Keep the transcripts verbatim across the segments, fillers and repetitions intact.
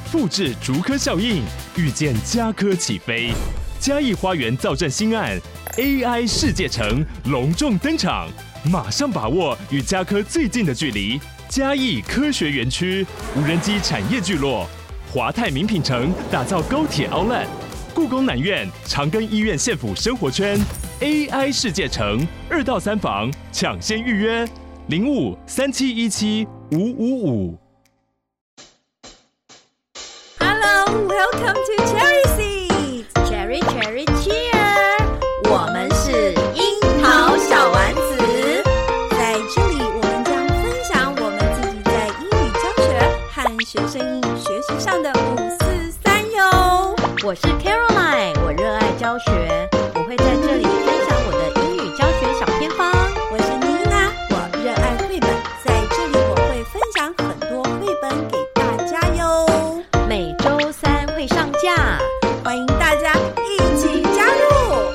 複製竹科效應，預見家科起飛。嘉義花園造鎮新案 A I 世界城隆重登場，馬上把握與家科最近的距離。嘉義科學園區無人機產業聚落，華泰名品城打造高鐵 Outlet， 故宮南院長庚醫院縣府生活圈 A I 世界城二到三房搶先預約零五三七一七五五五。 Hello，Welcome to Cherry Seeds，Cherry Cherry Cheer， 我們是櫻桃小丸子，在這裡我們將分享我們自己在英語教學和學生英語學習上的五四三喲。我是 Caroline， 我熱愛教學，我會在這裡分享我的英語教學小偏方。我是妮娜，我熱愛繪本，在這裡我會分享很多繪本給大家喲。每週三會上架，歡迎大家一起加入。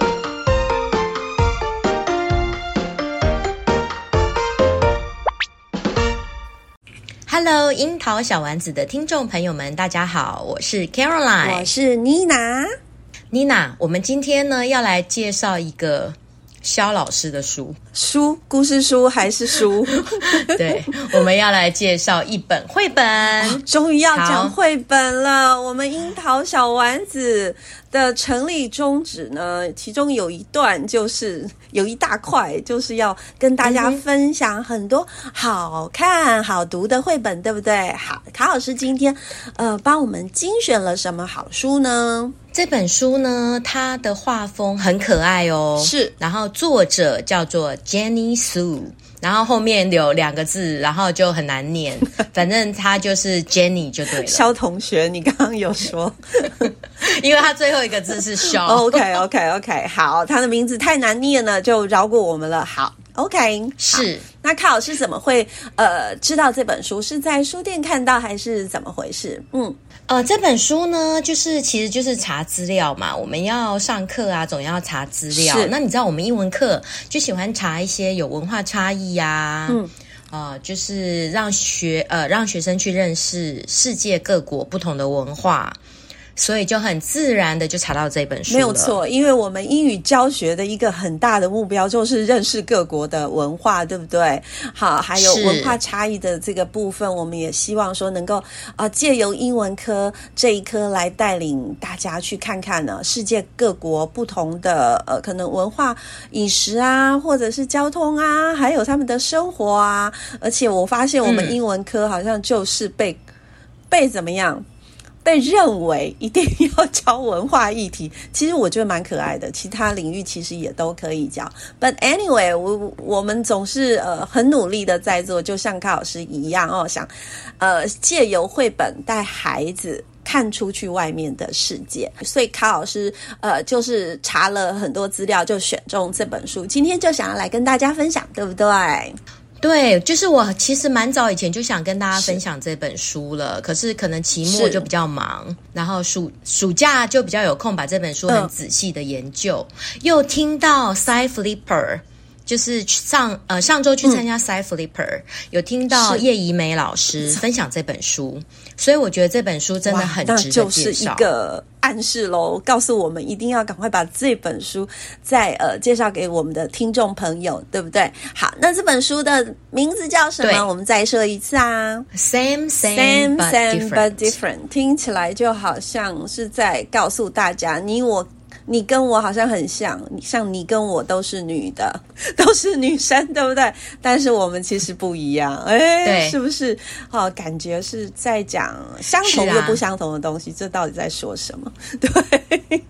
Hello， 櫻桃小丸子的聽眾朋友們，大家好，我是 Caroline， 我是妮娜。 妮娜，我們今天呢要來介紹一個蕭老師的書， 書，故事書還是書？ 對，我們要來介紹一本繪本。 哦，終於要講繪本了。我們櫻桃小丸子的成立宗旨呢，其中有一段就是有一大塊，就是要跟大家分享很多好看好讀的繪本，對不對？好，卡老師今天呃幫我們精選了什麼好書呢？ 這本書呢，它的畫風很可愛哦， 是， 然後作者叫做 Jenny Su， 然後後面有兩個字，然後就很難念，反正它就是 Jenny 就對了。蕭同學，你剛剛有說， 因為它最後一個字是蕭。 OK OK OK， 好，他的名字太難念了，就饒過我們了。好 ，OK， 是。 那卡老師怎麼會呃知道這本書？是在書店看到還是怎麼回事？嗯。 呃，這本書呢，就是其實就是查資料嘛。我們要上課啊，總要查資料。那你知道我們英文課就喜歡查一些有文化差異呀、啊，嗯，呃，就是讓學呃讓學生去認識世界各國不同的文化。所以就很自然的就查到這本書了。 沒有錯，因為我們英語教學的一個很大的目標就是認識各國的文化，對不對？好，還有文化差異的這個部分，我們也希望說能夠啊、呃、借由英文科這一科來帶領大家去看看呢世界各國不同的呃可能文化、飲食啊，或者是交通啊，還有他們的生活啊。而且我發現我們英文科好像就是被、嗯、被怎麼樣？被認為一定要教文化議題，其實我覺得蠻可愛的，其他領域其實也都可以教。But anyway， 我我們總是呃很努力的在做，就像卡老師一樣哦，想呃借由繪本帶孩子看出去外面的世界。所以卡老師呃就是查了很多資料，就選中這本書，今天就想要來跟大家分享，對不對？ 對，就是我其實蠻早以前就想跟大家分享這本書了，可是可能期末就比較忙，然後暑暑假就比較有空把這本書很仔細的研究，嗯、又聽到 Cy Flipper， 就是上呃上周去參加 Cy Flipper，、嗯、有聽到葉怡美老師分享這本書，所以我覺得這本書真的很值得介紹。那就是一個暗示咯，告訴我們一定要趕快把這本書再呃介紹給我們的聽眾朋友，對不對？好，那這本書的名字叫什麼？我們再說一次啊 ，Same Same, same, but, same different. but different， 聽起來就好像是在告訴大家，你我。你跟我好像很像，像你跟我都是女的，都是女生，對不對？但是我們其實不一樣，哎，對，是不是？哦，感覺是在講相同又不相同的東西，這到底在說什麼？對。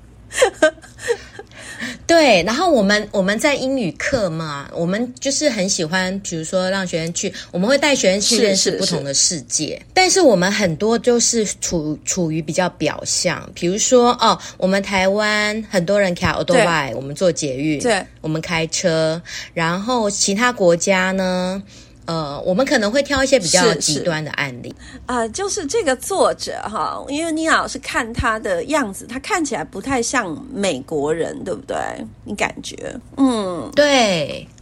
對，然後我們我們在英語課嘛，我們就是很喜歡，比如說讓學生去，我們會帶學生去認識不同的世界。是是是，但是我們很多就是處處於比較表象，比如說哦，我們台灣很多人開 Autobike， 我們坐捷運，對，我們開車，然後其他國家呢？呃，我們可能會挑一些比較極端的案例啊、呃，就是這個作者哈，因為妮娜老師看他的樣子，他看起來不太像美國人，對不對？你感覺？嗯， 對。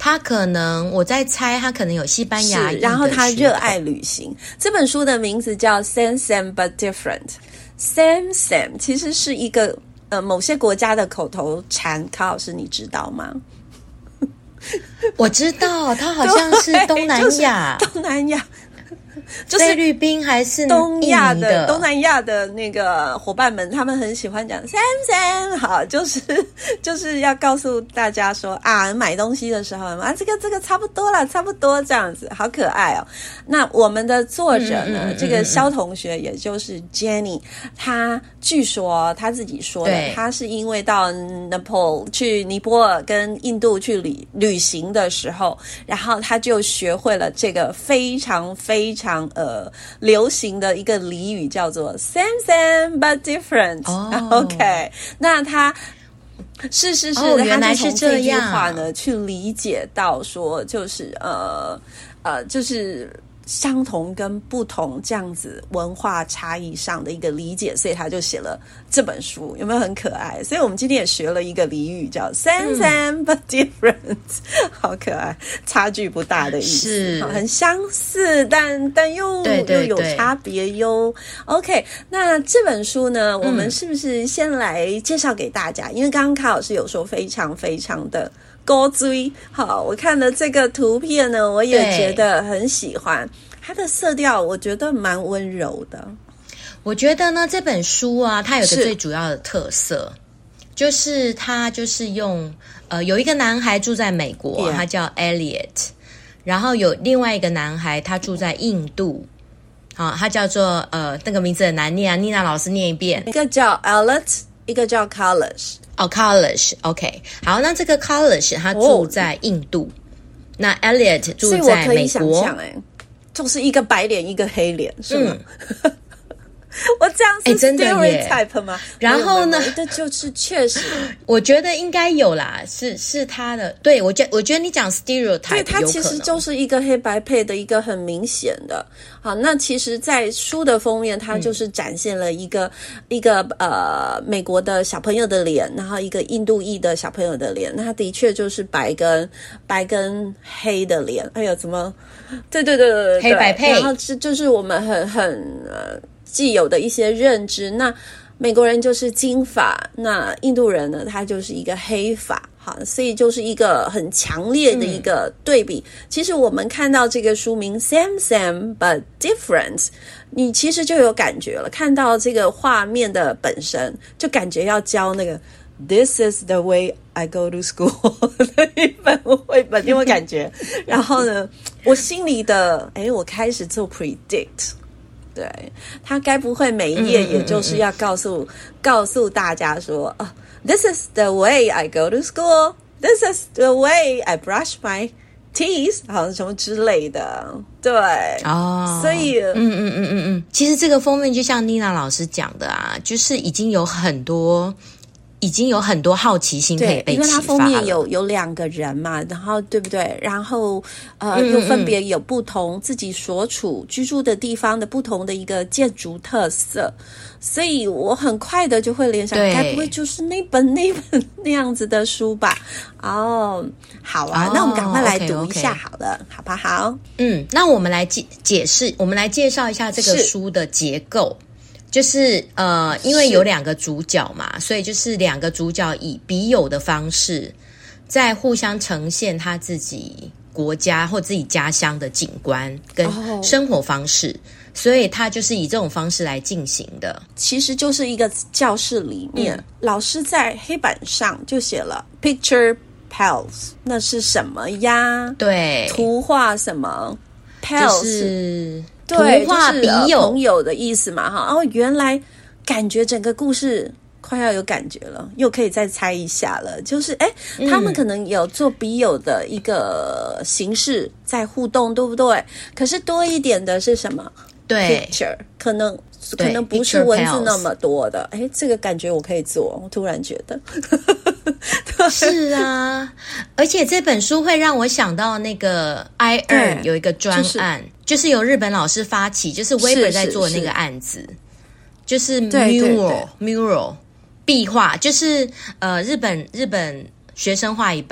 他可能我在猜，他可能有西班牙裔的血統， 然後他熱愛旅行。這本書的名字叫 Same Same But Different。Same Same 其實是一個呃某些國家的口頭禪，卡老師你知道嗎？ 我知道，他好像是東南亞， 就是、東南亞。就是菲律賓還是東亞的東南亞的那個夥伴們，他們很喜歡講 Sam Sam， 好，就是就是要告訴大家說啊，買東西的時候啊，這個這個差不多了，差不多這樣子，好可愛哦。那我們的作者呢，嗯嗯嗯嗯這個蕭同學，也就是 Jenny， 他據說他自己說的，他是因為到 Nepal 去尼泊爾跟印度去旅旅行的時候，然後他就學會了這個非常非常。呃，流行的一個俚語叫做 Same Same But Different。Oh. OK， 那他是是是，哦、原來是這樣。他就從這句話呢，去理解到說，就是呃呃，就是。相同跟不同這樣子文化差異上的一個理解，所以他就寫了這本書，有沒有很可愛？所以我們今天也學了一個俚語叫 Same Same But Different，嗯、好可愛，差距不大的意思，是很相似，但但又對對对又有差別喲。OK， 那這本書呢，我們是不是先來介紹給大家？嗯、因為剛剛卡老師有說非常非常的高追，好，我看了這個圖片呢，我也覺得很喜歡。它的色調，我覺得蠻溫柔的。 我覺得呢，這本書啊，它有個最主要的特色，就是它就是用呃，有一個男孩住在美國， yeah. 他叫 Elliot， 然後有另外一個男孩，他住在印度，好、啊，他叫做呃，那個名字很難念啊，妮娜老師念一遍。 一個叫 Elliot， 一個叫 Kailash。 哦 Kailash，OK， 好，那這個 Kailash 他住在印度，哦、那 Elliot 住在美國。所以我可以想象，哎，就是一個白臉，一個黑臉，是嗎？嗯我這樣是 stereotype 嗎？ 然後呢， 這就是確實， 我覺得應該有啦，是是他的。對，我覺我覺得你講 stereotype， 對， 它其實就是一個黑白配的一個很明顯的。好，那其實，在書的封面，它就是展現了一個、嗯、一個呃美國的小朋友的臉，然後一個印度裔的小朋友的臉，那它的確就是白跟白跟黑的臉。哎呦，怎麼？對對對對對， 黑白配。 然後這就是我們很很呃。既有的一些認知，那美國人就是金髮，那印度人呢，他就是一個黑髮，好，所以就是一個很強烈的一個對比。嗯、其實我們看到這個書名 Same Same But Different， 你其實就有感覺了，看到這個畫面的本身，就感覺要教那個 This is the way I go to school 的一本繪本，你有沒有感覺？然後呢，我心裡的，誒，我開始做 predict。對，他該不會每一頁也就是要告訴、嗯嗯嗯嗯、告訴大家說啊、oh, ，This is the way I go to school. This is the way I brush my teeth， 好像什麼之類的。對，哦，所以，嗯嗯嗯嗯嗯，其實這個封面就像妮娜老師講的啊，就是已經有很多。已經有很多好奇心可以被啟發了，因為它封面有有兩個人嘛，然後對不對？然後呃，嗯嗯又分別有不同自己所處居住的地方的不同的一個建築特色，所以我很快的就會聯想，該不會就是那本那本那樣子的書吧？哦，好啊，哦、那我們趕快來讀一下好了， okay, okay. 好不好？ 嗯，那我們來解解釋，我們來介紹一下這個書的結構。就是呃，因為有兩個主角嘛，所以就是兩個主角以筆友的方式，在互相呈現他自己國家或自己家鄉的景觀跟生活方式，哦、所以他就是以這種方式來進行的。 其實就是一個教室裡面，嗯、老師在黑板上就寫了 Picture Pals， 那是什麼呀？ 對， 圖畫什麼 Pals 就是對， 圖畫筆友、 就是呃、朋友的意思嘛，哈。哦，原來感覺整個故事快要有感覺了，又可以再猜一下了。就是，哎，他們可能有做筆友的一個形式在互動，對不對？可是多一點的是什麼？ 對 ，picture 可能可能不是文字那麼多的。哎，這個感覺我可以做，我突然覺得。 是啊，而且這本書會讓我想到那個 I Earn 有一個專案，就是、就是由日本老師發起，就是 Weber 在做的那個案子，是是是就是 mural 對對對 mural 壁畫，就是呃日本日本學生畫一半，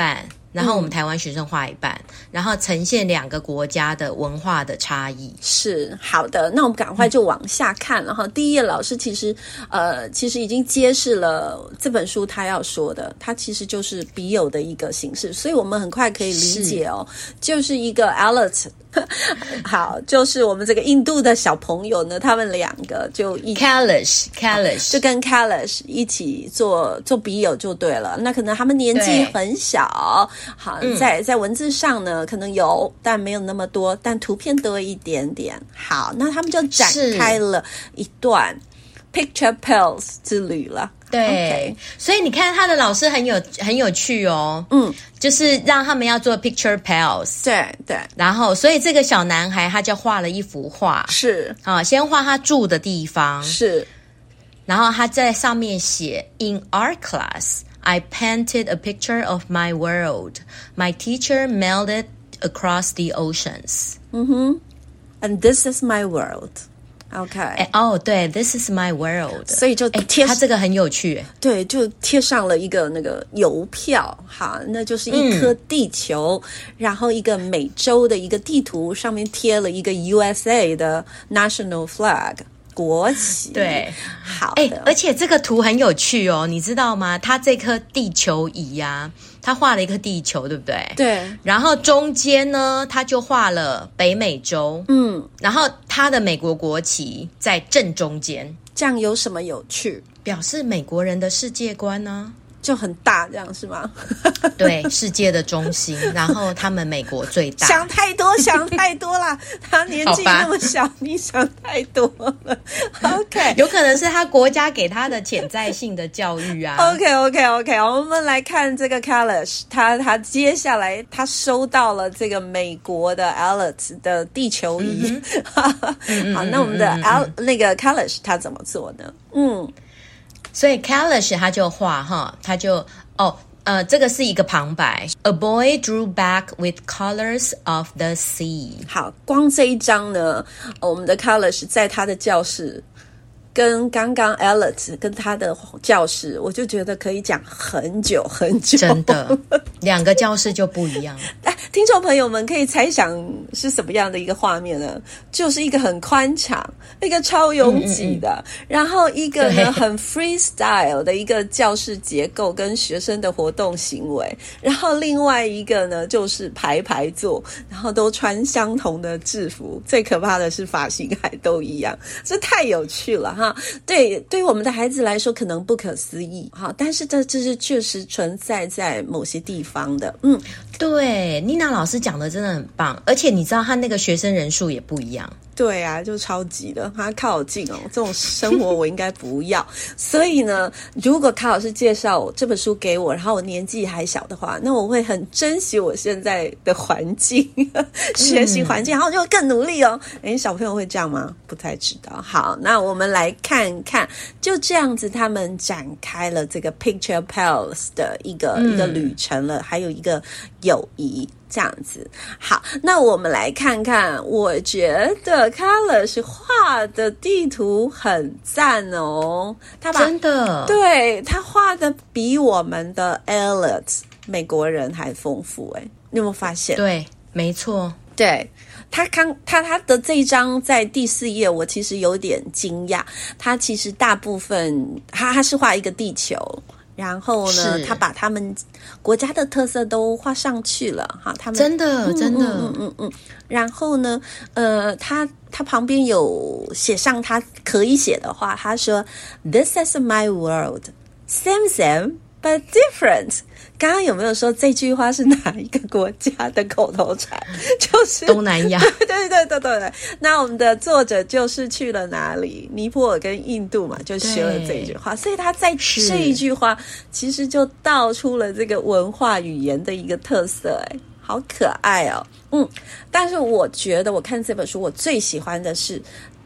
然後我們台灣學生畫一半，嗯、然後呈現兩個國家的文化的差異。 是好的，那我們趕快就往下看了哈。嗯、第一頁老師其實呃，其實已經揭示了這本書他要說的，它其實就是筆友的一個形式，所以我們很快可以理解哦，是就是一個 Alex。好，就是我們這個印度的小朋友呢，他們兩個就一 Kailash Kailash 就跟 Kailash 一起做做筆友就對了。那可能他們年紀很小，好，嗯、在在文字上呢可能有，但沒有那麼多，但圖片多一點點。好，那他們就展開了一段 Picture Pals 之旅了。 對， okay. 所以你看他的老師很有很有趣哦，嗯，就是讓他們要做 picture pals， 對對， 然後所以這個小男孩他就畫了一幅畫， 是啊，先畫他住的地方， 是， 然後他在上面寫 In art class, I painted a picture of my world. My teacher mailed it across the oceans. 嗯哼 And this is my world.OK， 哦，對 ，This is my world， 所以就貼， 它這個很有趣， 對，就貼上了一個那個郵票，哈，那就是一顆地球，嗯、然後一個美洲的一個地圖，上面貼了一個 U S A 的 National Flag 國旗， 對， 好的， 而且這個圖很有趣哦，你知道嗎？它這顆地球儀呀、啊。他畫了一個地球，對不對？ 對。 然後中間呢，他就畫了北美洲。嗯。然後他的美國國旗在正中間。 這樣有什麼有趣？ 表示美國人的世界觀呢、啊？ 就很大，這樣是嗎？ 對，世界的中心，然後他們美國最大。 想太多，想太多啦！他年紀那麼小，你想太多了。OK， 有可能是他國家給他的潛在性的教育啊。 OK，OK，OK， 我們來看這個 Kailash， 他他接下來他收到了這個美國的 Alex 的地球儀。嗯、好，那我們的 Al、嗯、那個 Kailash 他怎麼做呢？嗯。 所以 Kailash 他就畫哈，他就哦呃，這個是一個旁白。A boy drew back with colors of the sea。好， 光這一張呢，我們的 Kailash 在他的教室，跟剛剛 Alex 跟他的教室，我就覺得可以講很久很久。 真的，兩個教室就不一樣。 聽眾朋友們可以猜想是什麼樣的一個畫面呢？就是一個很寬敞，一個超擁擠的，嗯嗯嗯，然後一個呢對很 freestyle 的一個教室結構跟學生的活動行為，然後另外一個呢就是排排坐，然後都穿相同的制服，最可怕的是髮型還都一樣，這太有趣了哈！對，對於我們的孩子來說可能不可思議哈，但是這這是確實存在在某些地方的，嗯， 對，妮娜老師講的真的很棒，而且你知道他那個學生人數也不一樣。 對啊，就超級的，他靠我近哦，這種生活我應該不要。所以呢，如果卡老師介紹這本書給我，然後我年紀還小的話，那我會很珍惜我現在的環境，學習環境，然後就會更努力哦。誒，小朋友會這樣嗎？不太知道。好，那我們來看看，就這樣子，他們展開了這個 Picture Pals 的一個、嗯、一個旅程了，還有一個友誼。這樣子，好，那我們來看看，我覺得 Kailash 畫的地圖很讚哦，他把真的， 對，他畫的比我們的 Alex 美國人還豐富誒，你有沒有發現？ 對，沒錯， 對，他剛他他的這一張在第四頁，我其實有點驚訝，他其實大部分他他是畫一個地球。然後呢，是他把他們國家的特色都畫上去了哈，他們真的、嗯、真的， 嗯嗯嗯。然後呢，呃，他他旁邊有寫上他可以寫的話，他說 ：“This is my world, same same but different。”剛剛有沒有說這句話是哪一個國家的口頭禪？就是東南亞。 對對對對對對。那我們的作者就是去了哪裡？尼泊爾跟印度嘛，就學了這一句話。所以他在這一句話其實就道出了這個文化語言的一個特色，哎，好可愛哦。嗯，但是我覺得我看這本書，我最喜歡的是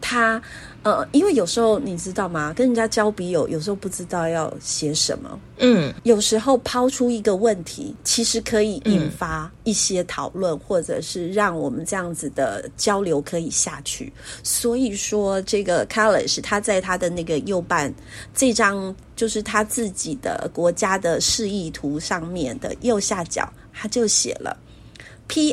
他呃，因為有時候你知道嗎？跟人家交筆友，有時候不知道要寫什麼。嗯，有時候拋出一個問題，其實可以引發一些討論，嗯、或者是讓我們這樣子的交流可以下去。所以說，這個 Kailash 他在他的那個右半這張就是他自己的國家的示意圖上面的右下角，他就寫了 P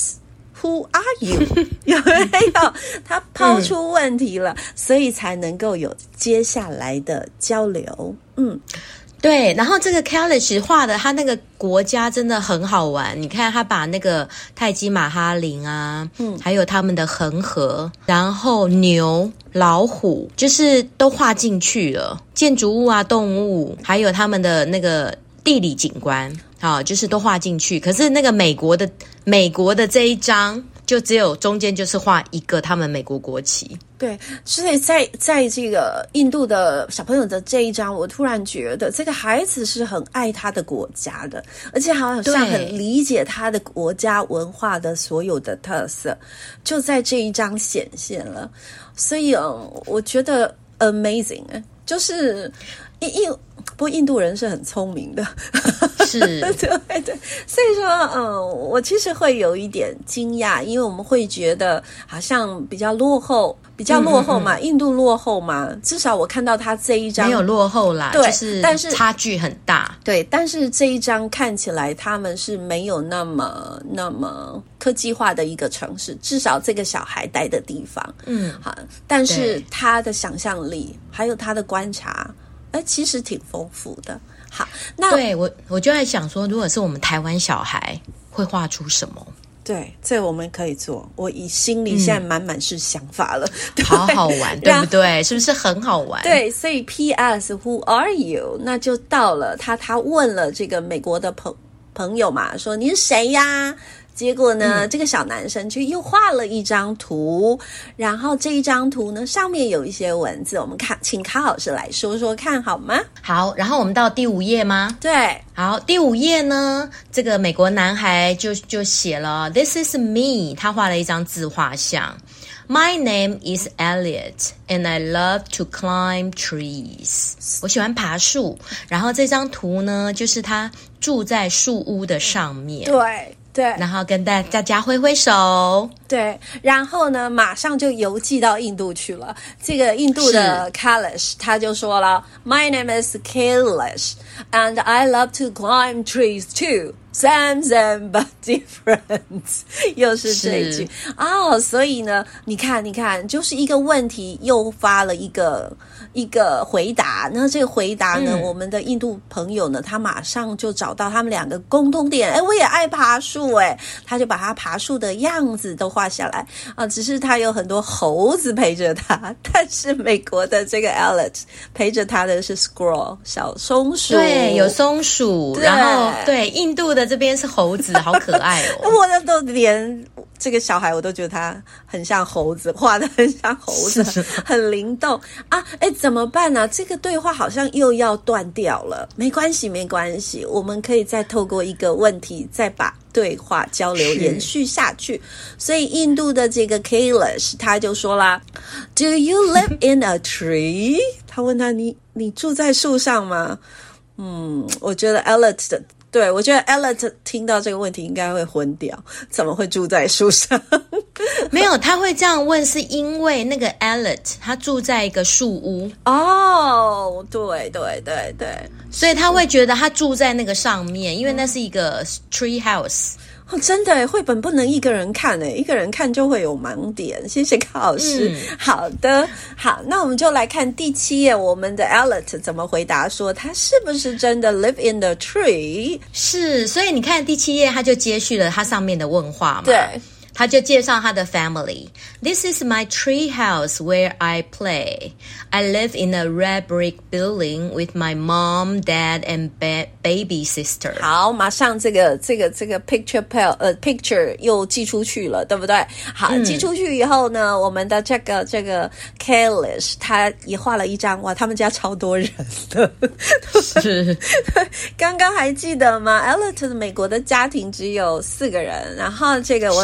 S。Who are you？ 有沒有？他拋出問題了，嗯、所以才能夠有接下來的交流。嗯， 對。然後這個 Kailash 畫的他那個國家真的很好玩。你看他把那個泰姬瑪哈陵啊，嗯，還有他們的恆河，然後牛、老虎，就是都畫進去了。建築物啊、動物，還有他們的那個地理景觀。好，就是都畫進去。可是那個美國的美國的這一張，就只有中間就是畫一個他們美國國旗。 對，所以在在這個印度的小朋友的這一張，我突然覺得這個孩子是很愛他的國家的，而且好像很理解他的國家文化的所有的特色，就在這一張顯現了。所以嗯，我覺得 amazing， 就是印印。不過印度人是很聰明的， 是， 對對，所以說，嗯，我其實會有一點驚訝，因為我們會覺得好像比較落後，比較落後嘛，嗯嗯嗯印度落後嘛，至少我看到他這一張沒有落後啦， 對， 就是但是差距很大， 對，但是這一張看起來他們是沒有那麼那麼科技化的一個城市，至少這個小孩待的地方，嗯，好，但是他的想象力還有他的觀察。其實挺豐富的。好，那對我我就在想說，如果是我們台灣小孩，會畫出什麼？ 對，這我們可以做。我以心裡現在滿滿是想法了， 嗯、好好玩，對不對？是不是很好玩？ 對，所以 P S Who are you？ 那就到了他，他問了這個美國的朋朋友嘛，說你是誰呀？結果呢，嗯、這個小男生就又畫了一張圖，然後這一張圖呢，上面有一些文字，我們看，請卡老師來說說看好嗎？ 好，然後我們到第五頁嗎？ 對， 好，第五頁呢，這個美國男孩就就寫了 This is me， 他畫了一張自畫像。My name is Elliot, and I love to climb trees. 我喜歡爬樹，然後這張圖呢，就是他住在樹屋的上面。 對。對， 然後跟大大家揮揮手。 對，然後呢，馬上就郵寄到印度去了。這個印度的 Kailash 他就說了 ，My name is Kailash, and I love to climb trees too. Same, same, but different. 又是這一句哦， oh, 所以呢，你看，你看，就是一個問題誘發了一個一個回答。那這個回答呢，嗯、我們的印度朋友呢，他馬上就找到他們兩個共同點。哎，我也愛爬樹，哎，他就把他爬樹的樣子都畫下來啊。只是他有很多猴子陪着他，但是美國的這個 Elliot 陪着他的是 squirrel 小松鼠， 對，有松鼠，然後對印度的。這邊是猴子，好可愛哦！ 我的都連這個小孩我都覺得他很像猴子，畫得很像猴子，很靈動啊！哎，怎麼辦呢？這個對話好像又要斷掉了。沒關係，沒關係，我們可以再透過一個問題，再把對話交流延續下去。所以印度的這個 Kailash 他就說啦 ：“Do you live in a tree？” 他問他：“你你住在樹上嗎？”嗯，我覺得 Elliot 的。對，我覺得 Elliot 聽到這個問題應該會昏掉，怎麼會住在樹上？ 沒有，他會這樣問是因為那個 Elliot 他住在一個樹屋。 哦，對對對對， 所以他會覺得他住在那個上面，因為那是一個 tree house。 哦，真的耶，繪本不能一個人看誒，一個人看就會有盲點。謝謝卡老師。嗯、好的，好，那我們就來看第七頁，我們的 Elliot 怎麼回答說他是不是真的 live in the tree？ 是，所以你看第七頁，他就接續了他上面的問話嘛。 對。 他就介紹他的 family. This is my tree house where I play. I live in a red brick building with my mom, dad, and ba- baby sister. 好，馬上這個這個這個 picture pal 呃 picture 又寄出去了，對不對？好，嗯、寄出去以後呢，我們的這個這個 Kailash 他也畫了一張，哇，他們家超多人的。是，剛剛還記得嗎？Elliot 美國的家庭只有四個人，然後這個我。是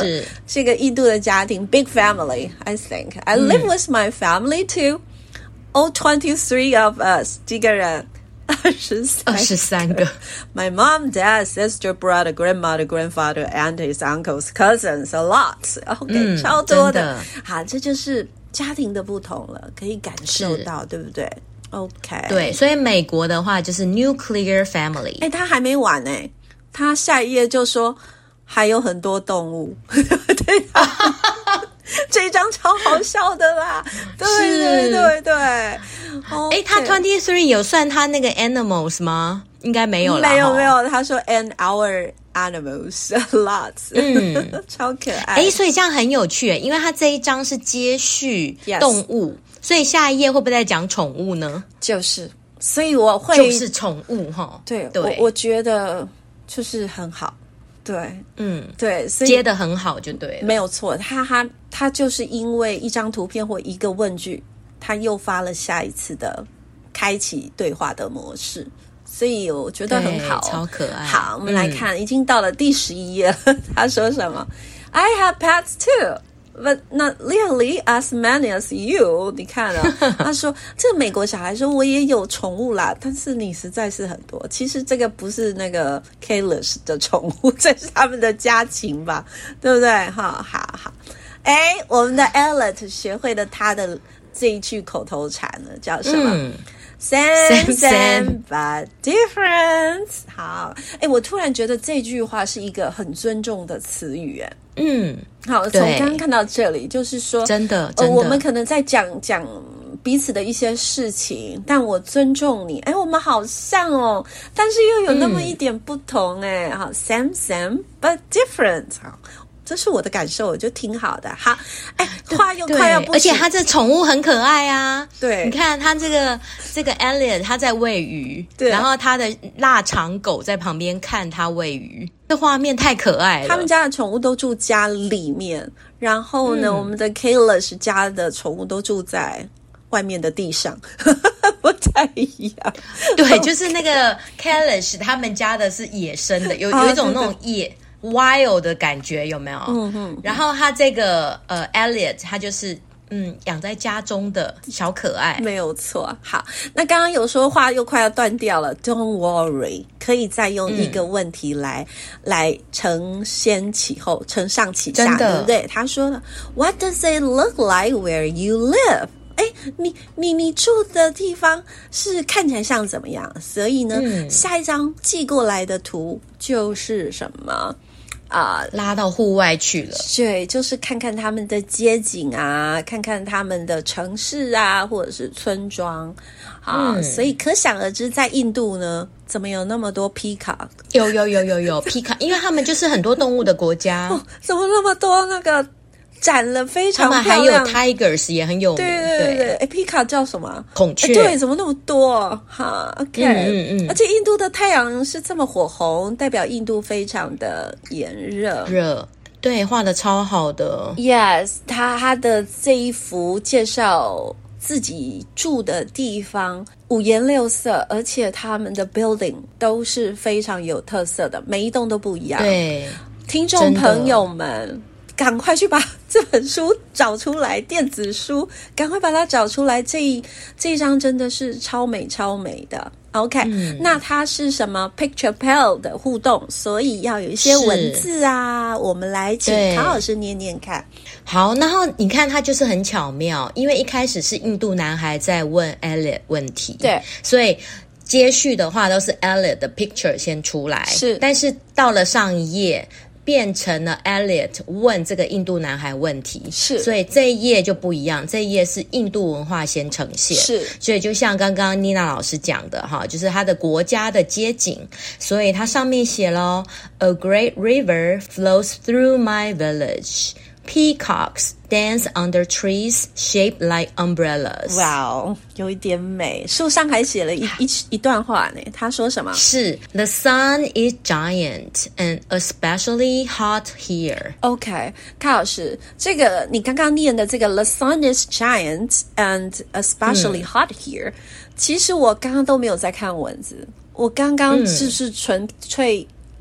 是一個印度的家庭 ，big family. I think I live with my family too. All twenty-three of us. 幾個人？二十三。 二十三個。 My mom, dad, sister, brother, grandmother, grandfather, aunties, uncles, cousins, a lot. OK，、嗯、超多的。好，這就是家庭的不同了，可以感受到，對不對？OK， 對，所以美國的話就是 nuclear family。 哎，他還沒完呢，他下一頁就說還有很多動物，對啊，這一張超好笑的啦，對對對對。哎、 okay，他 twenty-three 有算他那個 animals 嗎？應該沒有啦， 沒有沒有，他說 and our animals a lot， 嗯，超可愛。 哎，所以這樣很有趣，因為他這一張是接續動物。Yes，所以下一頁會不會再講寵物呢？ 就是，所以我會就是寵物哈。對對，我我覺得就是很好，對，嗯，對，所以接得很好就對了， 沒有錯。他他他就是因為一張圖片或一個問句，他誘發了下一次的開啟對話的模式，所以我覺得很好， 超可愛。 好，我們來看，嗯、已經到了第十一頁了。他說什麼 ？I have pets too.But not nearly as many as you 你看了他說這個美國小孩說我也有寵物啦，但是你實在是很多。其實這個不是那個 Kailash 的寵物，這是他們的家禽吧，對不對？好好好，哎，我們的 Elliot 學會了他的這一句口頭禪了，叫什麼？嗯Same, same, same, but different. 好，哎，我突然覺得這句話是一個很尊重的詞語，哎，嗯，好，從剛剛看到這裡，就是說， 真的，真的、 呃，我們可能在講講彼此的一些事情，但我尊重你，哎，我們好像哦，但是又有那麼一點不同，哎、嗯，好 ，same, same, but different. 好。這是我的感受，我覺得挺好的。好，哎，話又快要不， 而且他這寵物很可愛啊。 對， 你看他這個這個 Elliot 他在餵魚，對，然後他的臘腸狗在旁邊看他餵魚，這畫面太可愛了。 他們家的寵物都住家裡面，然後呢，嗯、我們的 Kailash 家的寵物都住在外面的地上，不太一樣。 對， okay. 就是那個 Kailash 他們家的是野生的，有有一種那種野。哦wild 的感覺有沒有？嗯嗯。然後他這個呃 Elliot 他就是嗯養在家中的小可愛， 沒有錯。好，那剛剛有說話又快要斷掉了 ，Don't worry， 可以再用一個問題來、嗯、來承先啟後，承上啟下，對不對？他說了 ，What does it look like where you live？哎，你你你住的地方是看起來像怎麼樣？所以呢，嗯、下一張寄過來的圖就是什麼？啊、呃， 拉到戶外去了。 對，就是看看他們的街景啊，看看他們的城市啊，或者是村莊啊。嗯、所以可想而知，在印度呢，怎麼有那麼多 peacock？ 有有有有有 peacock，因為他們就是很多動物的國家。 哦、怎麼那麼多那個？展了非常漂亮， 他們還有 tigers 也很有名。對對對對，哎，peacock叫什麼？ 孔雀。 對，怎麼那麼多？哈 ，OK，嗯嗯嗯。而且印度的太陽是這麼火紅，代表印度非常的炎熱。 熱，對，畫得超好的。 Yes， 他他的這一幅介紹自己住的地方五顏六色，而且他們的 building 都是非常有特色的，每一棟都不一樣。 對， 聽眾朋友們。趕快去把這本書找出來，電子書，趕快把它找出來。這一這一張真的是超美超美的。OK，、嗯、那它是什麼 Picture Pal 的互動，所以要有一些文字啊。我們來請卡老師念念看。 好，然後你看它就是很巧妙，因為一開始是印度男孩在問 Elliot 問題， 對， 所以接續的話都是 Elliot 的 picture 先出來， 是， 但是到了上一頁。變成了 Elliot 問這個印度男孩問題， 是， 所以這一頁就不一樣，這一頁是印度文化先呈現， 是， 所以就像剛剛妮娜老師講的哈，就是他的國家的街景，所以它上面寫了 A great river flows through my village. Peacocks dance under trees shaped like umbrellas. 哇哦，有一點美。樹上還寫了一一一段話呢。他說什麼？ 是 The sun is giant and especially hot here. OK， 卡老師，這個你剛剛念的這個 The sun is giant and especially hot here，、嗯、其實我剛剛都沒有在看文字，我剛剛就是純粹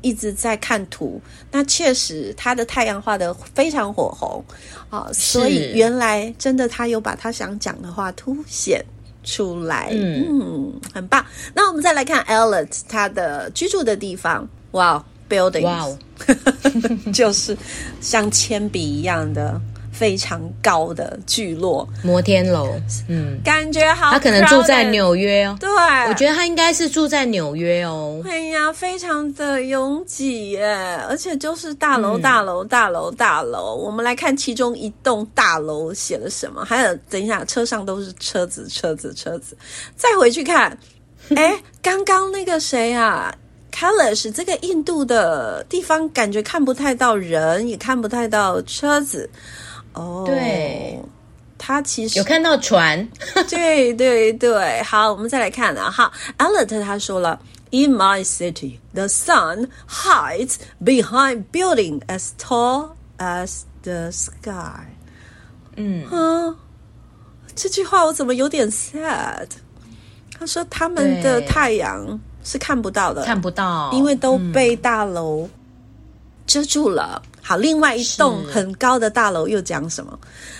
一直在看圖，那確實他的太陽畫得非常火紅啊、呃，所以原來真的他有把他想講的話凸顯出來，嗯，嗯，很棒。那我們再來看 Elliot 他的居住的地方，哇 ，buildings， 哇哦，就是像鉛筆一樣的。非常高的聚落摩天樓，嗯， 感覺好。他可能住在紐約哦， 對， 我覺得他應該是住在紐約哦。 哎呀，非常的擁擠耶，而且就是大樓、嗯、大樓、大樓、大樓。我們來看其中一棟大樓寫了什麼，還有等一下，車上都是車子、車子、車子。再回去看，哎，剛剛那個誰啊 Kailash 這個印度的地方，感覺看不太到人，也看不太到車子。哦，對，他其實有看到船， 對對對。好，我們再來看啊，好 Elliot 他說了 ，In my city, the sun hides behind building as tall as the sky。嗯，啊，這句話我怎麼有點 sad？ 他說他們的太陽是看不到的， 看不到， 因為都被大樓遮住了。嗯，好，另外一棟很高的大樓又講什麼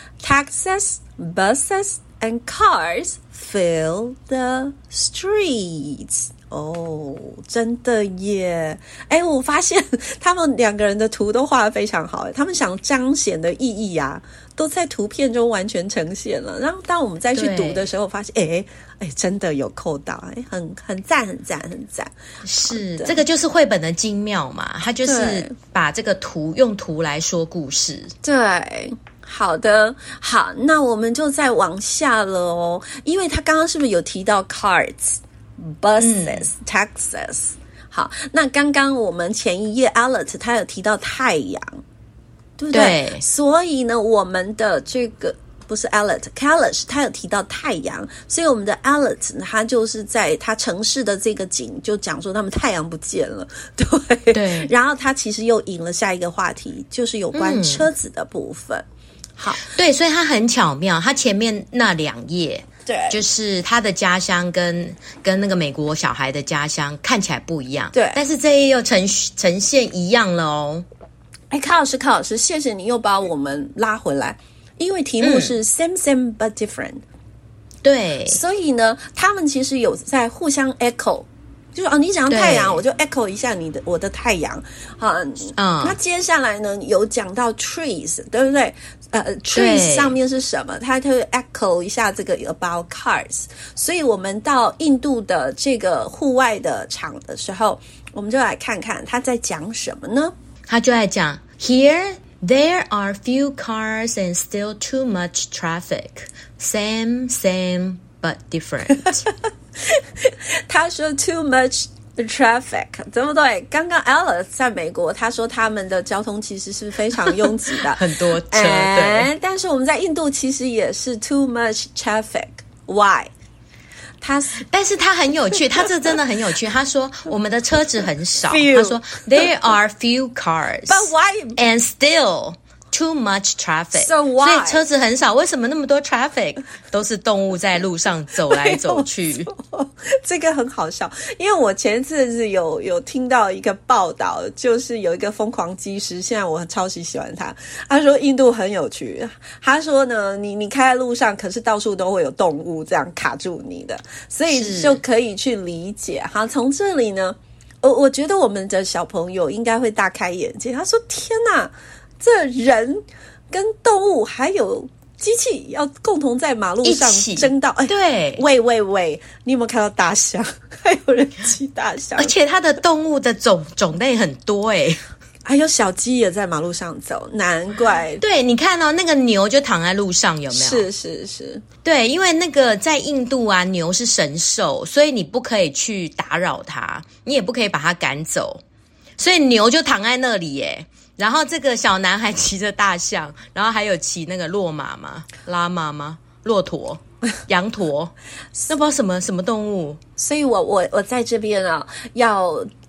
？Taxis, buses, and cars fill the streets。哦，真的耶！哎，我發現他們兩個人的圖都畫得非常好，他們想彰顯的意義啊，都在圖片中完全呈現了。然後當我們再去讀的時候，發現，哎哎，真的有扣到，哎，很很讚，很讚，很讚。 是，這個就是繪本的精妙嘛，它就是把這個圖用圖來說故事。 對。好的，好，那我們就再往下了哦，因為他剛剛是不是有提到 cars、buses、嗯、taxis？ 好，那剛剛我們前一頁 Elliot 他有提到太陽，對不對？對，所以呢，我們的這個不是 Elliot Kailash 他有提到太陽，所以我們的 Elliot 他就是在他城市的這個景就講說他們太陽不見了，對對，然後他其實又引了下一個話題，就是有關車子的部分。嗯，好， 對，所以他很巧妙，他前面那兩頁， 對， 就是他的家鄉跟跟那個美國小孩的家鄉看起來不一樣， 對， 但是這一頁又呈呈現一樣了哦。 哎，卡老師，卡老師，謝謝你又把我們拉回來，因為題目是 same same but different，嗯， 對， 所以呢，他們其實有在互相 echo。就是哦，你講太陽，我就 echo 一下你的我的太陽，啊，嗯，那接下來呢，有講到 trees， 對不對？呃 ，trees 上面是什麼？它就 echo 一下這個 about cars。所以我們到印度的這個戶外的場的時候，我們就來看看他在講什麼呢？ 他就在講 Here there are few cars and still too much traffic. Same, same, but different. 他說 too much traffic， 對不對？剛剛 Elliot 在美國，他說他們的交通其實是非常擁擠的， 很多車。 對，但是我們在印度其實也是 too much traffic。Why？ 他， 但是他很有趣，他這真的很有趣。他說我們的車子很少，他說 there are few cars，but why and still too much traffic. So why? 所以車子很少，為什麼那麼多 traffic？ 都是動物在路上走來走去。 這個很好笑，因為我前次是有有聽到一個報道，就是有一個瘋狂機師，現在我超級喜歡他。他說印度很有趣，他說呢，你你開在路上，可是到處都會有動物這樣卡住你的，所以就可以去理解。好，從這裡呢，我我覺得我們的小朋友應該會大開眼界。他說：“天哪！”這人跟動物還有機器要共同在馬路上爭道，哎， 對， 喂喂喂，你有沒有看到大象？還有人騎大象， 而且它的動物的種種類很多哎， 還有小雞也在馬路上走，難怪。 對，你看哦，那個牛就躺在路上，有沒有？ 是是是， 對，因為那個在印度啊，牛是神獸，所以你不可以去打擾它，你也不可以把它趕走，所以牛就躺在那裡耶。然後這個小男孩騎着大象，然後還有騎那個駱馬嗎？拉馬嗎？駱駝、羊駝，那不知道什麼什麼動物。 所以我我我在這邊啊，要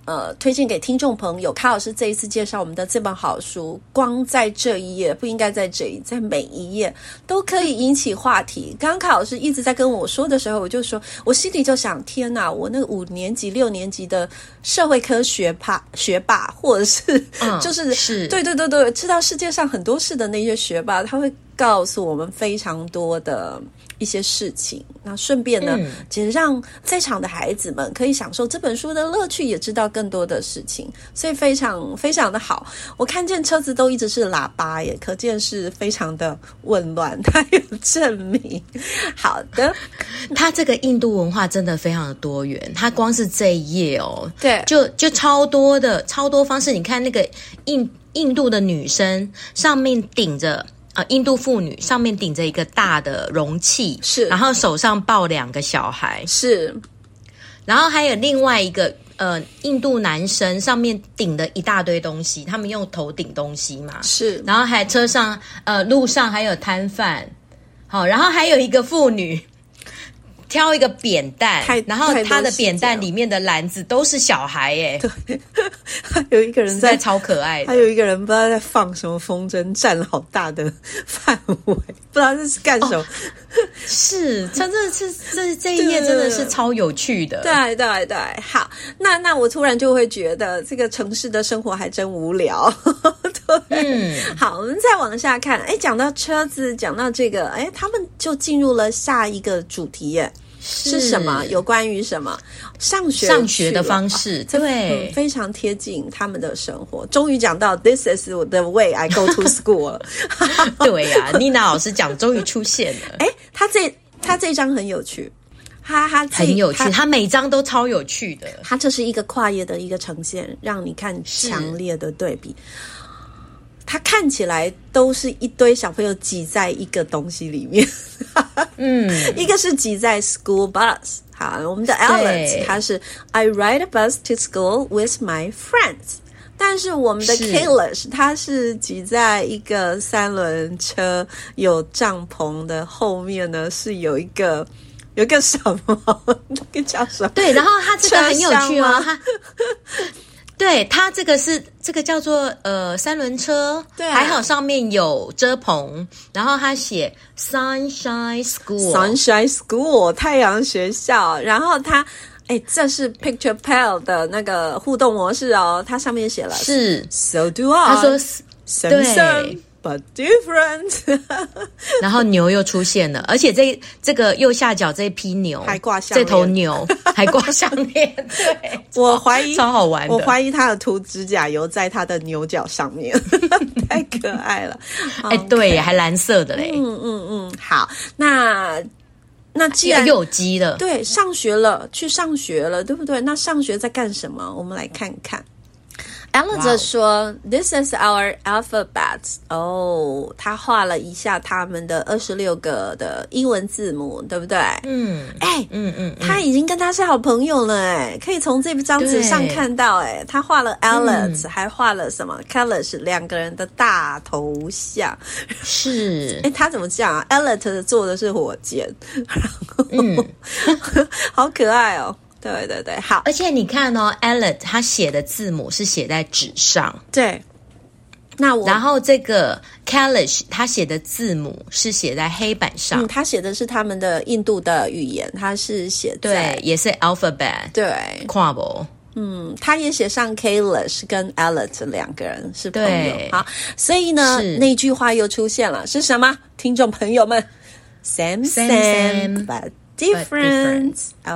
呃推薦給聽眾朋友。卡老師這一次介紹我們的這本好書，光在這一頁，不應該在這一，在每一頁都可以引起話題。剛剛卡老師一直在跟我說的時候，我就說，我心裡就想，天哪，我那個五年級、六年級的社會科學霸、學霸，或者是、嗯、就是是對對對對，知道世界上很多事的那些學霸，他會告訴我們非常多的一些事情。那順便呢，嗯、其實讓在場的孩子們可以享受這本書的樂趣，也知道更多的事情，所以非常非常的好。我看見車子都一直是喇叭耶，可見是非常的混亂。它有證明。好的， 它這個印度文化真的非常的多元。它光是這一頁哦， 對， 就就超多的超多方式。你看那個印印度的女生上面頂着。呃，印度婦女上面頂着一個大的容器， 是， 然後手上抱兩個小孩， 是， 然後還有另外一個呃，印度男生上面頂了一大堆東西，他們用頭頂東西嘛， 是， 然後還車上呃路上還有攤販，好，然後還有一個婦女挑一個扁擔，然後他的扁擔裡面的籃子都是小孩耶， 對，還有一個人在， 在超可愛的， 還有一個人不知道在放什麼風箏，佔了好大的範圍，不知道這是幹什麼。哦、是，真的是這這一頁真的是超有趣的。 對對對，好，那那我突然就會覺得這個城市的生活還真無聊。對，嗯，好，我們再往下看，哎，講到車子，講到這個，哎，他們就進入了下一個主題耶。是, 是什麼？有關於什麼上學上學的方式？ 哦、 對、 嗯，非常貼近他們的生活。終於講到 This is the way I go to school 了。 對呀、啊，妮娜老師講終於出現了。 哎，他這他這一章很有趣，他他很有趣，他, 他每章都超有趣的。 他這是一個跨頁的一個呈現，讓你看強烈的對比。它看起來都是一堆小朋友擠在一個東西裡面，嗯，一個是擠在 school bus， 好，我們的 Alex 他是 I ride a bus to school with my friends， 但是我們的 Kailash 他是擠在一個三輪車有帳篷的後面呢，是有一個有一個什麼那個叫什麼？ 對，然後他這個很有趣哦，他。對，它這個是這個叫做呃三輪車，對、啊，還好上面有遮棚，然後他寫 Sunshine School，Sunshine School 太陽學校，然後它哎這是 Picture Pal 的那個互動模式哦，它上面寫了是 So do I， 他說 same same but different， 然後牛又出現了，而且這這個右下角這匹牛還掛項鏈， 這頭牛還掛項鏈，對， 我懷疑超好玩的， 我懷疑他有塗指甲油在他的牛角上面，太可愛了。 哎， okay. 對，還藍色的嘞， 嗯嗯嗯，好，那那既然又有機了， 對，上學了，去上學了，對不對？那上學在幹什麼？我們來看看。Alex 說、wow. This is our alphabet. 哦、oh, 他畫了一下他們的二十六個的英文字母，對不對？嗯，哎、欸，嗯嗯，他已經跟他是好朋友了，哎，可以從這張紙上看到，哎，他畫了 Alex、嗯、還畫了什麼 Kailash 兩個人的大頭像，是，哎，他怎麼這樣啊 Alex 做的是火箭，然後，嗯，好可愛哦。對對對，好， 而且你看哦 Alex 他寫的字母是寫在紙上， 對。那我然後這個 Kailash 他寫的字母是寫在黑板上， 嗯，他寫的是他們的印度的語言，他是寫在對，也是 alphabet， 對， 跨博， 嗯，他也寫上 Kailash 跟 Alex 兩個人是朋友，好，所以呢，那句話又出現了，是什麼？聽眾朋友們 ，Same same, same but Different.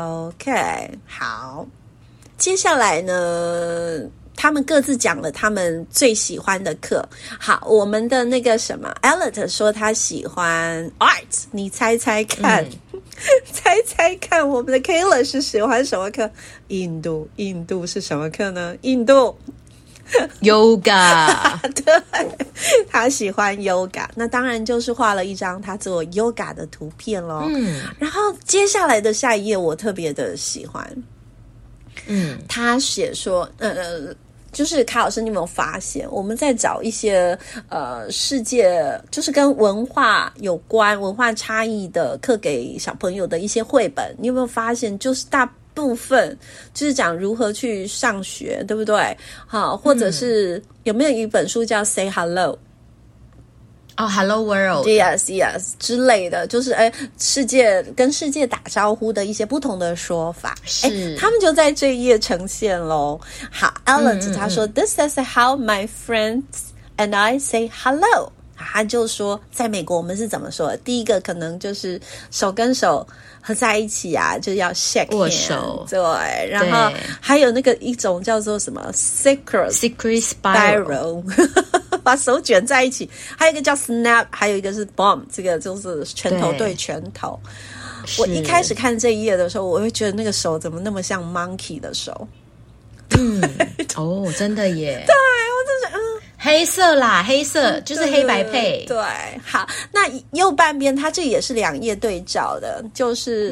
OK， 好。接下來呢，他們各自講了他們最喜歡的課。好，我們的那個什麼 Alex 說他喜歡 Art， 你猜猜看，嗯、猜猜看，我們的 Kailash 是喜歡什麼課？印度，印度是什麼課呢？印度。 Yoga， 對，他喜歡 Yoga， 那當然就是畫了一張他做 Yoga 的圖片咯。嗯，然後接下來的下一頁我特別的喜歡，嗯，他寫說，呃，就是卡老師，你有沒有發現我們在找一些呃世界，就是跟文化有關、文化差異的課給小朋友的一些繪本？你有沒有發現，就是大部分就是講如何去上學，對不對？好，或者是有沒有一本書叫 Say Hello？ 哦、oh, ，Hello World，Yes Yes 之類的，就是哎，世界跟世界打招呼的一些不同的說法，哎，他們就在這一頁呈現咯。好 ，Ellen 他說、嗯嗯、，This is how my friends and I say hello。他就說，在美國我們是怎麼說的？第一個可能就是手跟手合在一起啊，就要 shake hand，握手，對，然後還有那個一種叫做什麼 secret secret spiral。 把手捲在一起，還有一個叫 snap， 還有一個是 bomb， 這個就是拳頭對拳頭。我一開始看這一頁的時候，我會覺得那個手怎麼那麼像 monkey 的手？ 嗯，哦，真的耶。 對，我就是嗯， 黑色啦，黑色就是黑白配。 對，好，那右半邊它這也是兩頁對照的，就是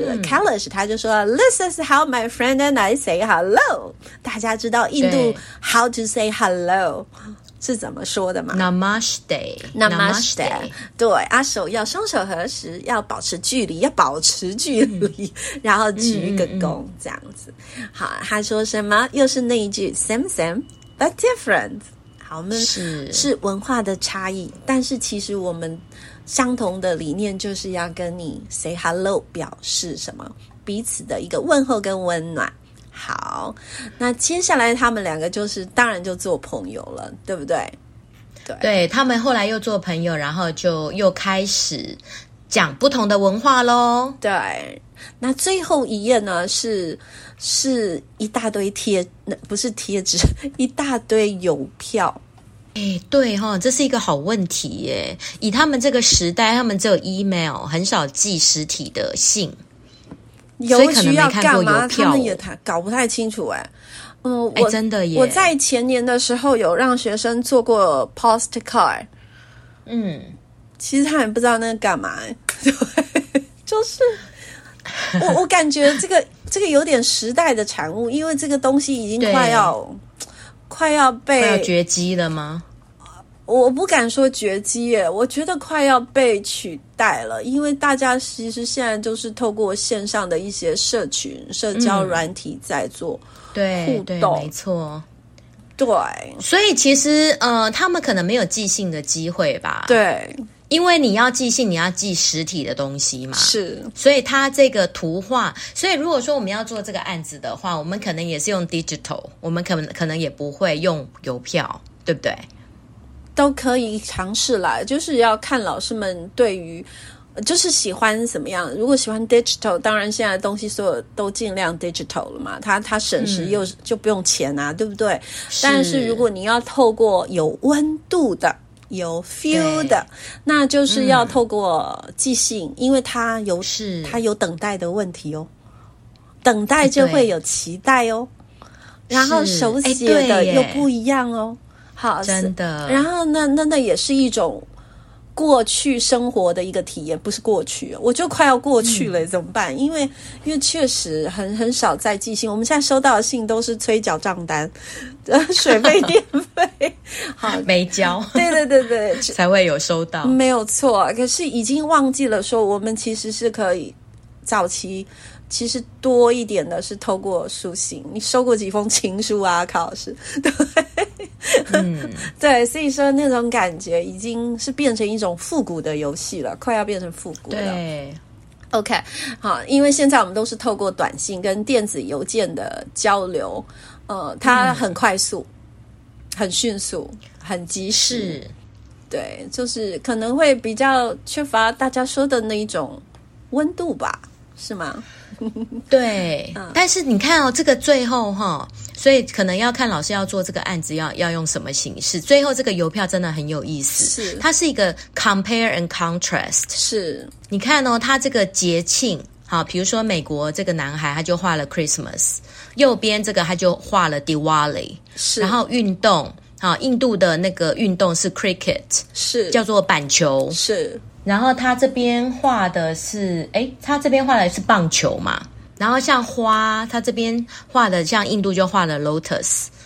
Kailash、嗯、他就說 This is how my friend and I say hello。大家知道印度 how to say hello是怎麼說的嗎？ Namaste Namaste， 對啊，手要雙手合十，要保持距離，要保持距離，嗯、然後鞠一個躬、嗯、這樣子。好，他說什麼？又是那一句 Same same but different。好，我們是是文化的差異，但是其實我們相同的理念就是要跟你 say hello， 表示什麼？彼此的一個問候跟溫暖。好，那接下來他們兩個就是當然就做朋友了，對不對？ 對，對，他們後來又做朋友，然後就又開始講不同的文化咯。 對，那最後一頁呢是是一大堆貼，不是貼紙，一大堆郵票。 哎，對齁，這是一個好問題耶。以他們這個時代，他們只有 email， 很少寄實體的信。 郵局要幹嘛？他們也太搞不太清楚哎。嗯，我真的耶。 我在前年的時候有讓學生做過 postcard。嗯，其實他們不知道那個幹嘛。對，就是我我感覺這個這個有點時代的產物，因為這個東西已經快要快要被快要絕跡了嗎？ 我不敢說絕跡耶，我覺得快要被取代了，因為大家其實現在都是透過線上的一些社群、社交軟體在做互動， 對，對，沒錯， 對， 所以其實呃，他們可能沒有寄信的機會吧？ 對， 因為你要寄信，你要寄實體的東西嘛， 是， 所以它這個圖畫，所以如果說我們要做這個案子的話，我們可能也是用 digital， 我們可能可能也不會用郵票，對不對？ 都可以嘗試啦，就是要看老師們對於就是喜歡怎麼樣。如果喜歡 digital， 當然現在的東西所有都盡量 digital 了嘛，它它省時又、嗯、就不用錢啊，對不對？是。但是如果你要透過有溫度的、有 feel 的，那就是要透過寄信，嗯、因為它有是它有等待的問題哦，等待就會有期待哦，然後手寫的又不一樣哦。好， 真的。 然後那那那也是一種過去生活的一個體驗，不是過去，我就快要過去了，嗯、怎麼辦？因為因為確實很很少在寄信，我們現在收到的信都是催繳賬單，水費、電費，好沒交， 對對對對， 才會有收到， 沒有錯。可是已經忘記了說，我們其實是可以早期。其實多一點的是透過書信，你收過幾封情書啊，卡老師？對，嗯，對，所以說那種感覺已經是變成一種復古的遊戲了，快要變成復古了。 對 ，OK， 好，因為現在我們都是透過短信跟電子郵件的交流，呃，它很快速、嗯、很迅速、很及時。對，就是可能會比較缺乏大家說的那一種溫度吧，是嗎？ 對、嗯，但是你看哦，這個最後哈，所以可能要看老師要做這個案子要要用什麼形式。最後這個郵票真的很有意思，是它是一個 compare and contrast。是，你看哦，它這個節慶，好，比如說美國這個男孩他就畫了 Christmas， 右邊這個他就畫了 Diwali， 是，然後運動，好，印度的那個運動是 cricket， 是叫做板球，是。然後他這邊畫的是，誒，他這邊畫的是棒球嘛。然後像花，他這邊畫的像印度就畫了 lotus，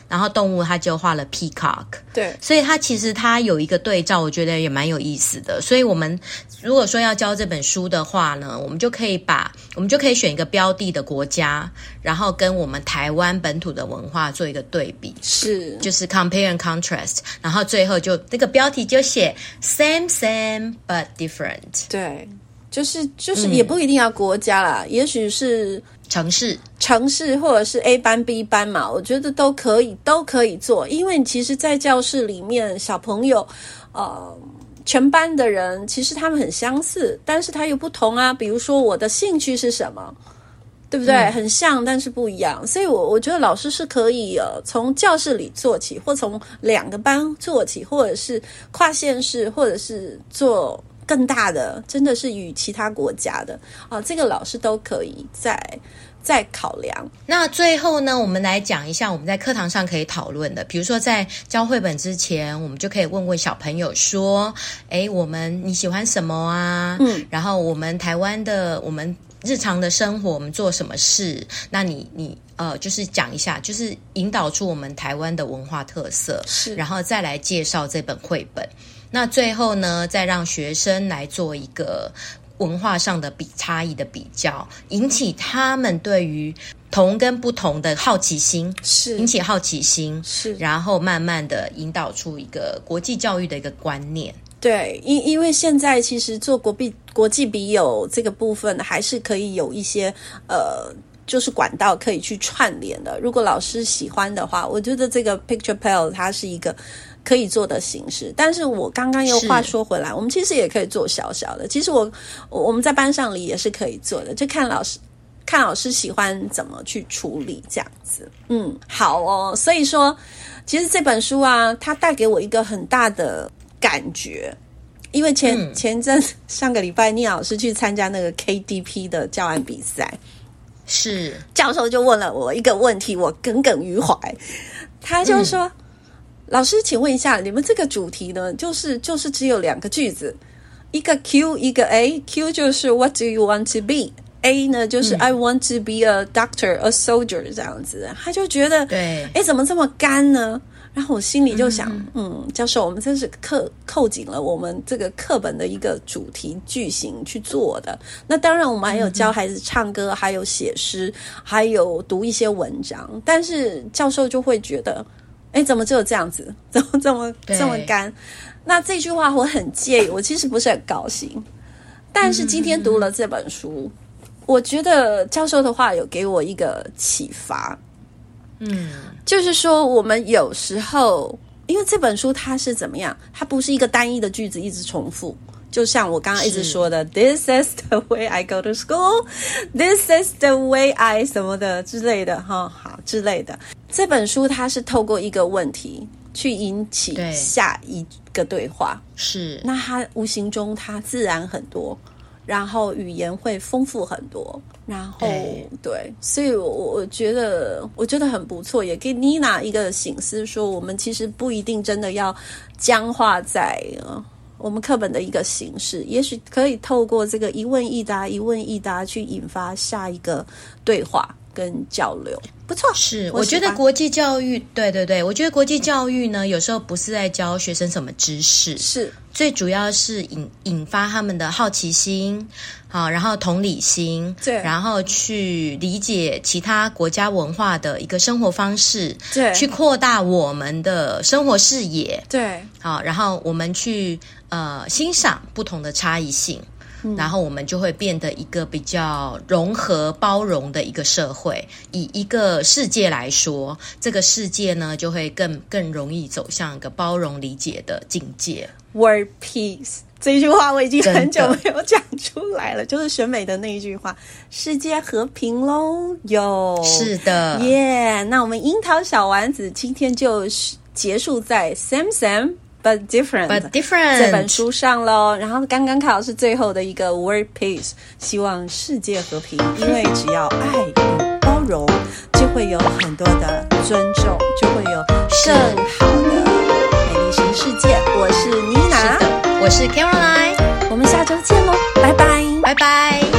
然後動物他就畫了 peacock， 對， 所以他其實他有一個對照，我覺得也蠻有意思的。所以我們如果說要教這本書的話呢，我們就可以把我們就可以選一個標的的國家，然後跟我們台灣本土的文化做一個對比， 是就是 compare and contrast， 然後最後就這個標題就寫 same same but different， 對，就是就是也不一定要國家啦，嗯、也許是城市城市或者是 A 班 B 班嘛，我覺得都可以都可以做，因為其實在教室裡面小朋友呃全班的人其實他們很相似，但是他又不同啊，比如說我的興趣是什麼，對不对？嗯、很像但是不一樣，所以我我覺得老師是可以呃從教室裡做起，或從兩個班做起，或者是跨縣市，或者是做更大的，真的是與其他國家的啊、呃，這個老師都可以再再考量。 那最後呢，我們來講一下我們在課堂上可以討論的，比如說在教繪本之前，我們就可以問問小朋友說，誒，我們你喜歡什麼啊？嗯，然後我們台灣的我們日常的生活，我們做什麼事？那你你呃，就是講一下，就是引導出我們台灣的文化特色，是，然後再來介紹這本繪本。那最後呢，再讓學生來做一個文化上的比差異的比較，引起他們對於同跟不同的好奇心，是引起好奇心，是然後慢慢的引導出一個國際教育的一個觀念。 對，因因為現在其實做國際國際筆友這個部分，還是可以有一些呃。就是管道可以去串聯的，如果老師喜歡的話，我覺得這個 Pictopalle 它是一個可以做的形式。但是我剛剛又話說回來，我們其實也可以做小小的，其實我我們在班上裡也是可以做的，就看老師看老師喜歡怎麼去處理這樣子。嗯，好哦，所以說其實這本書啊，它帶給我一個很大的感覺，因為前、嗯、前陣上個禮拜聶老師去參加那個 K D P 的教案比賽， 是教授就問了我一個問題，我耿耿於懷。他就說、嗯、老師請問一下，你們這個主題呢，就是就是只有兩個句子，一個 Q 一個 A。 Q 就是 What do you want to be， A 呢就是、嗯、I want to be a doctor a soldier 這樣子。他就覺得對，誒怎麼這麼乾呢？然後我心裡就想，嗯，嗯教授，我們真是扣扣緊了我們這個課本的一個主題句型去做的。那當然，我們還有教孩子唱歌，嗯、還有寫詩，還有讀一些文章。但是教授就會覺得，哎，怎麼只有這樣子？怎麼這麼這麼乾？那這句話我很介意，我其實不是很高興。但是今天讀了這本書，嗯、我覺得教授的話有給我一個啟發。嗯，就是說我們有時候，因為這本書它是怎麼樣，它不是一個單一的句子一直重複，就像我剛剛一直說的 This is the way I go to school, This is the way I 什麼的之類的哈，好之類的。這本書它是透過一個問題去引起下一個對話，是，那它無形中它自然很多，然後語言會豐富很多，然後 對, 對，所以我我覺得我覺得很不錯，也給妮娜一個省思，說我們其實不一定真的要僵化在、呃、我們課本的一個形式，也許可以透過這個一問一答一問一答去引發下一個對話跟交流，不錯。是，我, 我覺得國際教育，對對對，我覺得國際教育呢，有時候不是在教學生什麼知識，是最主要是引引發他們的好奇心，好，然後同理心，對，然後去理解其他國家文化的一個生活方式，對，去擴大我們的生活視野，对，好，然後我們去呃欣賞不同的差異性。嗯、然後我們就會變得一個比較融合包容的一個社會。以一個世界來說，這個世界呢就會更更容易走向一個包容理解的境界。World Peace 這一句話我已經很久沒有講出來了，就是選美的那一句話，世界和平咯喲。是的，耶、yeah, 那我們櫻桃小丸子今天就結束在 Same Same But different, but different 這本書上咯，然後剛剛考是最後的一個 World Peace， 希望世界和平，因為只要愛與包容，就會有很多的尊重，就會有更好的美麗新世界。我是妮娜，我是 Caroline，我們下周見咯，拜拜，拜拜。